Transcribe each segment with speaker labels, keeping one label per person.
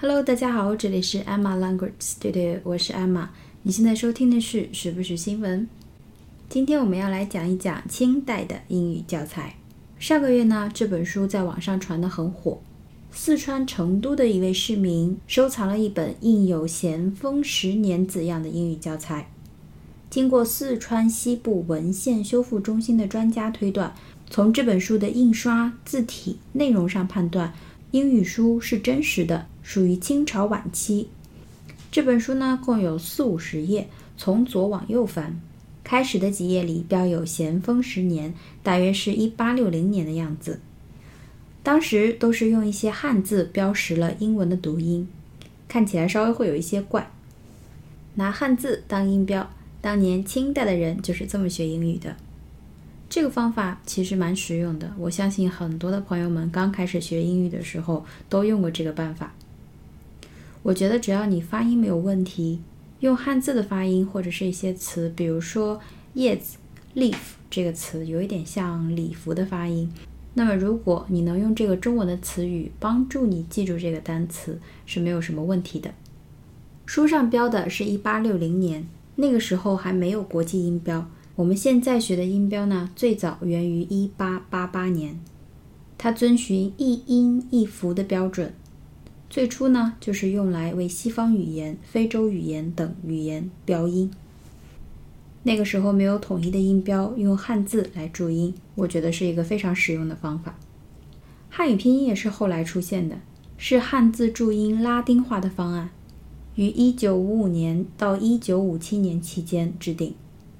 Speaker 1: Hello， 大家好，这里是 Emma Language， 对，我是 Emma。你现在收听的是时不时新闻。今天我们要来讲一讲清代的英语教材。上个月呢，这本书在网上传得很火。四川成都的一位市民收藏了一本印有咸丰10年字样的英语教材。经过四川西部文献修复中心的专家推断，从这本书的印刷、字体、内容上判断，英语书是真实的，属于清朝晚期。这本书呢，共有40-50页，从左往右翻。开始的几页里标有咸丰10年，大约是1860年的样子。当时都是用一些汉字标识了英文的读音，看起来稍微会有一些怪。拿汉字当音标，当年清代的人就是这么学英语的。这个方法其实蛮实用的，我相信很多的朋友们刚开始学英语的时候都用过这个办法。我觉得只要你发音没有问题，用汉字的发音或者是一些词，比如说叶子 leaf 这个词有一点像礼服的发音，那么如果你能用这个中文的词语帮助你记住这个单词，是没有什么问题的。书上标的是1860年，那个时候还没有国际音标。我们现在学的音标呢，最早源于1888年，它遵循一音一符的标准。最初呢，就是用来为西方语言、非洲语言等语言标音。那个时候没有统一的音标，用汉字来注音，我觉得是一个非常实用的方法。汉语拼音也是后来出现的，是汉字注音拉丁化的方案，于1955年到1957年期间制定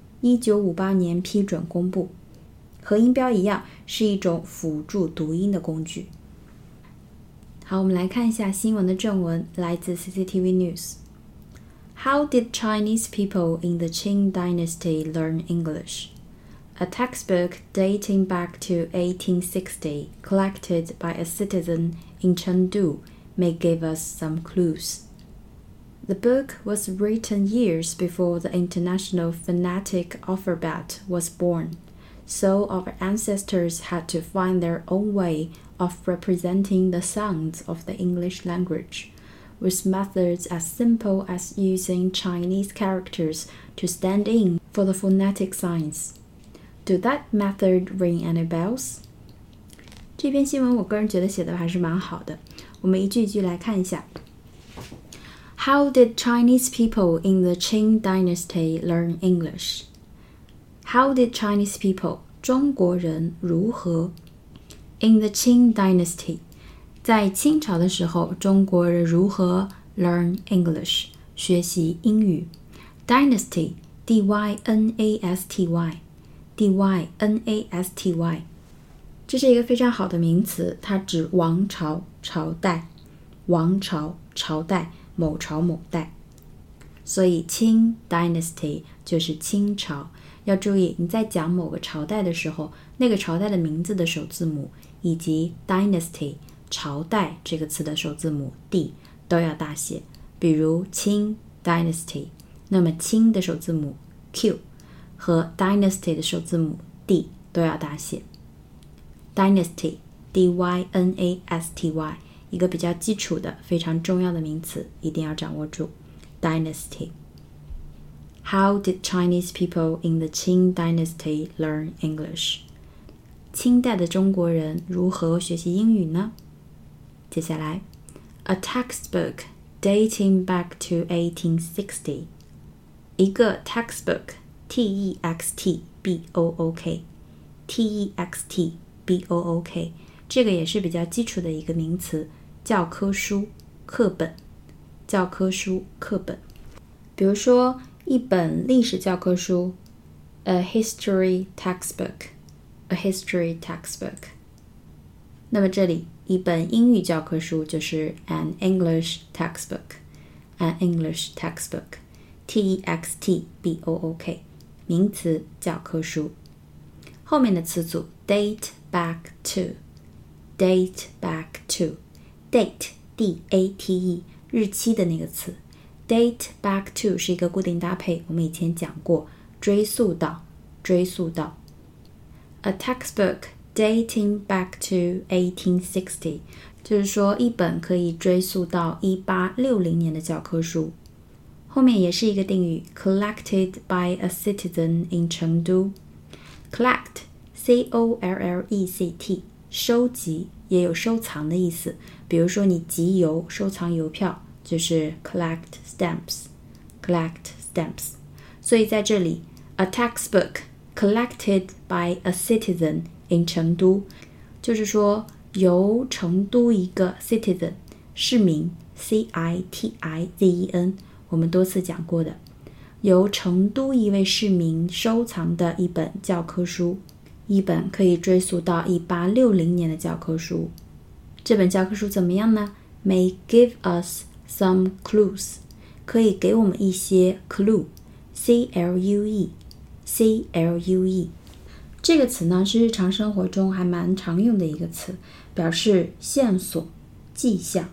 Speaker 1: ，1958年批准公布。和音标一样，是一种辅助读音的工具。好，我们来看一下新闻的正文，来自 CCTV News。How did Chinese people in the Qing dynasty learn English? A textbook dating back to 1860, collected by a citizen in Chengdu, may give us some clues.The book was written years before the International Phonetic Alphabet was born, so our ancestors had to find their own way of representing the sounds of the English language, with methods as simple as using Chinese characters to stand in for the phonetic signs. Do that method ring any bells? 这篇新闻我个人觉得写的还是蛮好的，我们一句一句来看一下。How did Chinese people in the Qing dynasty learn English? How did Chinese people, 中国人如何 in the Qing dynasty, 在清朝的时候，中国人如何 learn English, 学习英语 Dynasty, D-Y-N-A-S-T-Y, D-Y-N-A-S-T-Y, 这是一个非常好的名词，它指王朝、朝代，王朝、朝代，某朝某代，所以清 dynasty 就是清朝。要注意，你在讲某个朝代的时候，那个朝代的名字的首字母以及 dynasty 朝代这个词的首字母 D 都要大写。比如清 dynasty， 那么清的首字母 Q 和 dynasty 的首字母 D 都要大写。dynasty D-Y-N-A-S-T-Y，一个比较基础的非常重要的名词，一定要掌握住 Dynasty。 How did Chinese people in the Qing dynasty learn English? 清代的中国人如何学习英语呢？接下来 A textbook dating back to 1860， 一个 textbook T-E-X-T-B-O-O-K T-E-X-T-B-O-O-K，这个也是比较基础的一个名词，教科书、课本，教科书、课本。比如说，一本历史教科书 ，a history textbook， a history textbook。那么这里一本英语教科书就是 an English textbook， an English textbook， T-E-X-T-B-O-O-K， 名词，教科书。后面的词组 date back to。Date back to date D-A-T-E 日期的那个词 Date back to 是一个固定搭配，我们以前讲过，追溯到 A textbook dating back to 1860 就是说一本可以追溯到1860年的教科书。后面也是一个定语 collected by a citizen in Chengdu。 collect C-O-L-L-E-C-T 收集也有收藏的意思，比如说你集邮收藏邮票就是 collect stamps。 所以在这里 a textbook collected by a citizen in Chengdu 就是说由成都一个 citizen 市民 C-I-T-I-Z-E-N 我们多次讲过的，由成都一位市民收藏的一本教科书，一本可以追溯到1860年的教科书。这本教科书怎么样呢？ May give us some clues 可以给我们一些 clue C-L-U-E 这个词呢是日常生活中还蛮常用的一个词，表示线索迹象，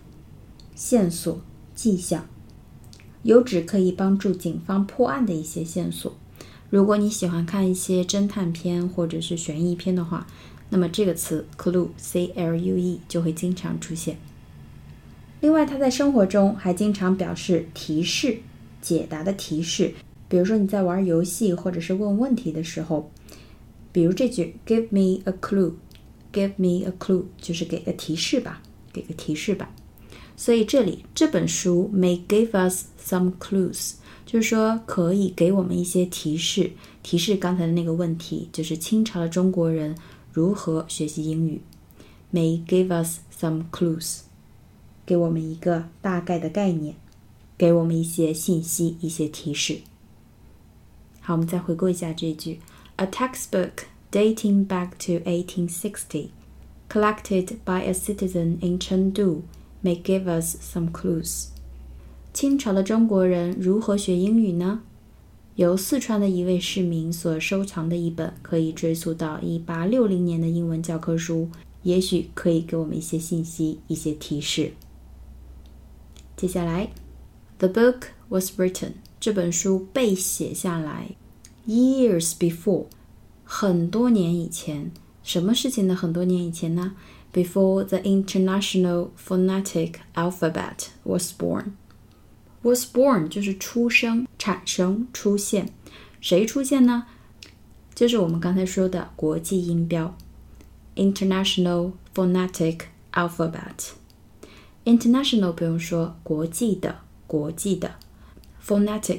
Speaker 1: 有指可以帮助警方破案的一些线索。如果你喜欢看一些侦探片或者是悬疑片的话，那么这个词 clue C-L-U-E 就会经常出现。另外它在生活中还经常表示提示，解答的提示，比如说你在玩游戏或者是问问题的时候，比如这句 give me a clue 就是给个提示吧。所以这里这本书 may give us some clues 就是说可以给我们一些提示刚才的那个问题，就是清朝的中国人如何学习英语。 may give us some clues 给我们一个大概的概念，给我们一些信息，一些提示。好，我们再回顾一下这一句 A textbook dating back to 1860 collected by a citizen in Chengdu may give us some clues。 清朝的中国人如何学英语呢？由四川的一位市民所收藏的一本可以追溯到1860年的英文教科书，也许可以给我们一些信息，一些提示。接下来 The book was written 这本书被写下来 years before 很多年以前。什么事情的很多年以前呢？ Before the International Phonetic Alphabet was born。 Was born 就是出生、产生、出现。谁出现呢？就是我们刚才说的国际音标 International Phonetic Alphabet。 International 不用说，国际的 Phonetic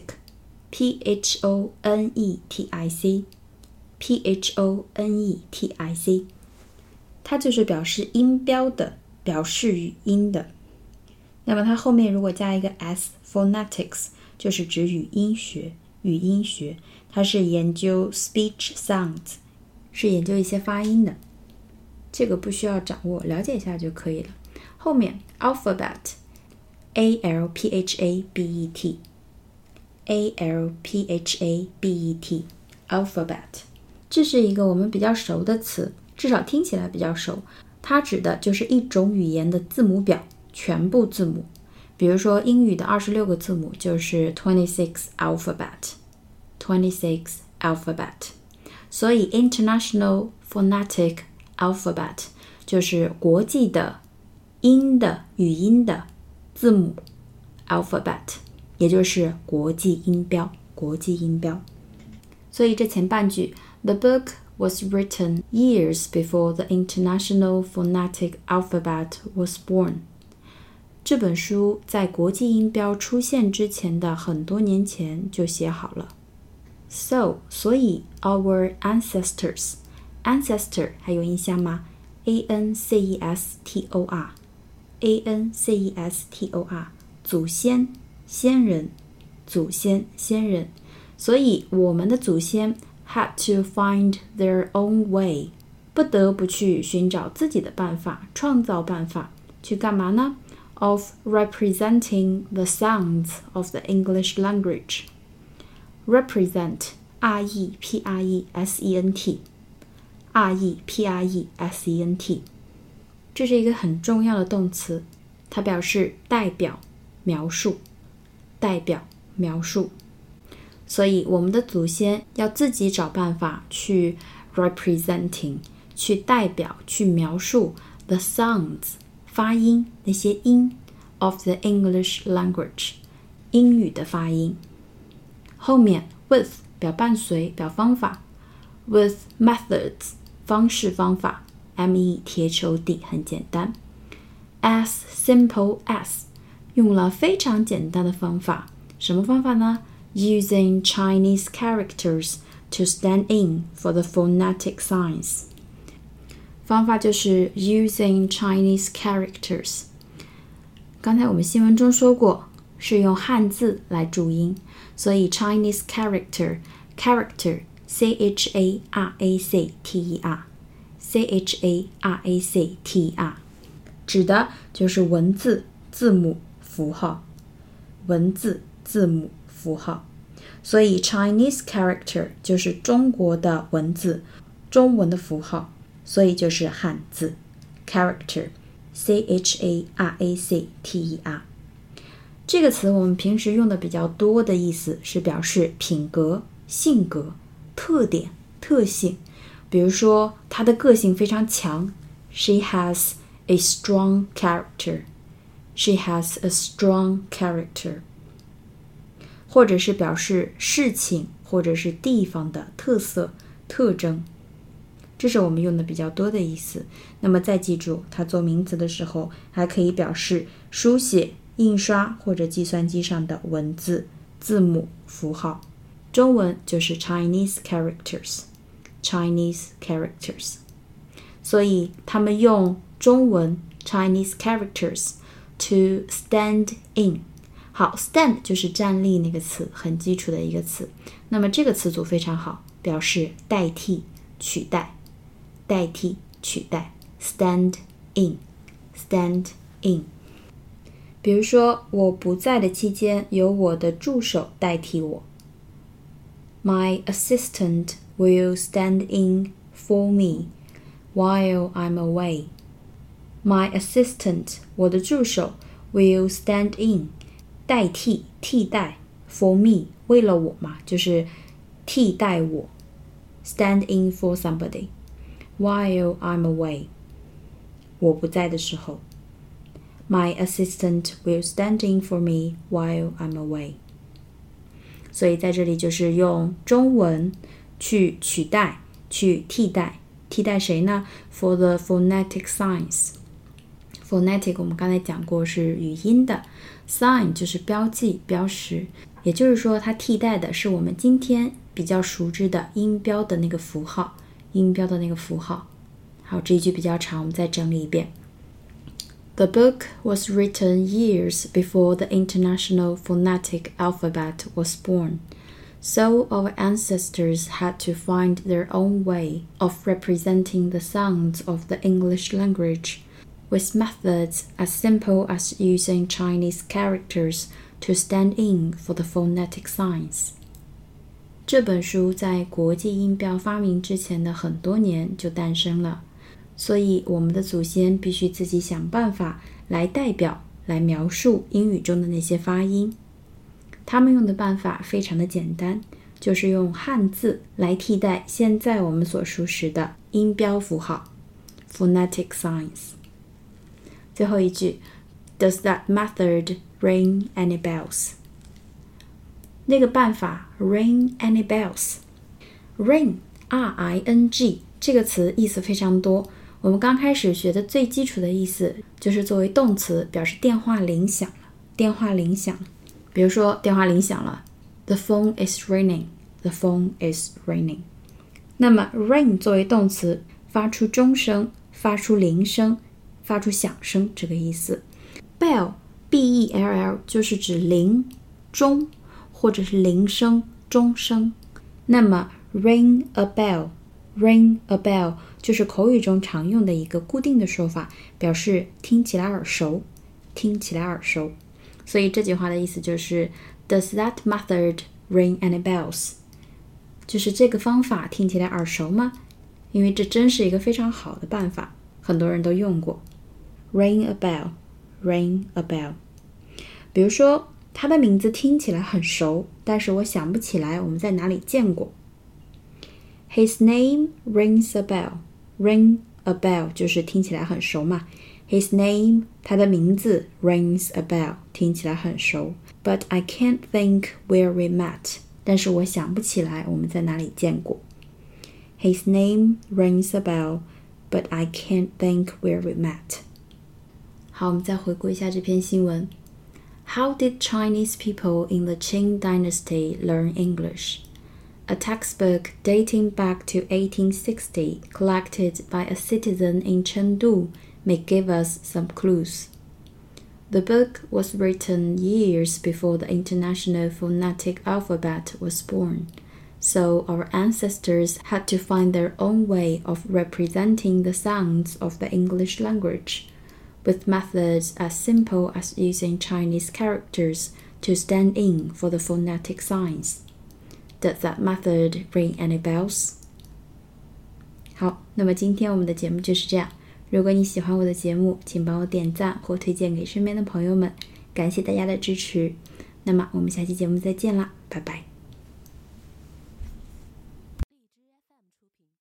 Speaker 1: P-H-O-N-E-T-I-C它就是表示音标的，表示语音的。那么它后面如果加一个 s phonetics 就是指语音学，它是研究 speech sounds， 是研究一些发音的。这个不需要掌握，了解一下就可以了。后面 alphabet A-L-P-H-A-B-E-T alphabet 这是一个我们比较熟的词，至少听起来比较熟。它指的就是一种语言的字母表，全部字母。比如说英语的26个字母就是26 alphabet。所以 International Phonetic Alphabet 就是国际的音的语音的字母 alphabet， 也就是国际音标。所以这前半句 The book was written years before the International Phonetic Alphabet was born。 这本书在国际音标出现之前的很多年前就写好了。So 所以 our ancestor 还有印象吗？ ancestor 祖先先人，所以我们的祖先 had to find their own way， 不得不去寻找自己的办法，创造办法，去干嘛呢？ Of representing the sounds of the English language。 Represent R-E-P-R-E-S-E-N-T 这是一个很重要的动词，它表示代表、描述。所以我们的祖先要自己找办法去 representing， 去代表，去描述 the sounds 发音，那些音 of the English language， 英语的发音。后面 with 表伴随，表方法， with methods 方式方法， me 贴球底，很简单。as simple as 用了非常简单的方法，什么方法呢？ Using Chinese characters to stand in for the phonetic signs。 方法就是 using Chinese characters。 刚才我们新闻中说过，是用汉字来注音，所以 Chinese character C-H-A-R-A-C-T-E-R 指的就是文字、字母、符号，文字、字母、符号。所以 Chinese character 就是中国的文字，中文的符号，所以就是汉字 character C-H-A-R-A-C-T-E-R。 这个词我们平时用的比较多的意思是表示品格、性格、特点、特性。比如说她的个性非常强， She has a strong character. She has a strong character. 或者是表示事情或者是地方的特色、特征，这是我们用的比较多的意思。那么再记住，它做名词的时候还可以表示书写、印刷或者计算机上的文字、字母、符号。中文就是 Chinese characters。 所以他们用中文 Chinese characters to stand in。 好， stand 就是站立那个词，很基础的一个词。那么这个词组非常好，表示代替、取代，代替、取代 stand in。 比如说我不在的期间，由我的助手代替我。 My assistant will stand in for me while I'm away. My assistant 我的助手 will stand in 代替、替代 for me 为了我嘛，就是替代我 stand in for somebody while I'm away 我不在的时候。 My assistant will stand in for me while I'm away。 所以在这里就是用中文去取代、去替代。替代谁呢？ For the phonetic signs。 Phonetic 我们刚才讲过是语音的， sign 就是标记、标识，也就是说它替代的是我们今天比较熟知的音标的那个符号，音标的那个符号。好，这一句比较长，我们再整理一遍。The book was written years before the International Phonetic Alphabet was born, so our ancestors had to find their own way of representing the sounds of the English language, with methods as simple as using Chinese characters to stand in for the phonetic signs. 这本书在国际音标发明之前的很多年就诞生了，所以我们的祖先必须自己想办法来代表、来描述英语中的那些发音。他们用的办法非常的简单，就是用汉字来替代现在我们所熟识的音标符号 phonetic signs。 最后一句 Does that method ring any bells? 那个办法 ring any bells? Ring R-I-N-G 这个词意思非常多，我们刚开始学的最基础的意思就是作为动词表示电话铃响了，电话铃响。比如说电话铃响了， The phone is ringing. The phone is ringing. 那么 ring 作为动词，发出钟声，发出铃声，发出响声这个意思。Bell B-E-L-L 就是指铃、钟或者是铃声、钟声。那么 ring a bell, ring a bell 就是口语中常用的一个固定的说法，表示听起来耳熟，听起来耳熟。所以这句话的意思就是 Does that method ring any bells? 就是这个方法听起来耳熟吗？因为这真是一个非常好的办法，很多人都用过。Ring a bell, ring a bell。 比如说他的名字听起来很熟，但是我想不起来我们在哪里见过。His name rings a bell. Ring a bell 就是听起来很熟嘛。 His name, 他的名字 rings a bell, 听起来很熟。But I can't think where we met. 但是我想不起来我们在哪里见过。His name rings a bell, but I can't think where we met. 好，我们再回顾一下这篇新闻。How did Chinese people in the Qing dynasty learn English? A textbook dating back to 1860, collected by a citizen in Chengdu, may give us some clues. The book was written years before the International Phonetic Alphabet was born, so our ancestors had to find their own way of representing the sounds of the English language, with methods as simple as using Chinese characters to stand in for the phonetic signs. Does that method ring any bells? 好，那么今天我们的节目就是这样。如果你喜欢我的节目，请帮我点赞或推荐给身边的朋友们，感谢大家的支持。那么我们下期节目再见啦，拜拜。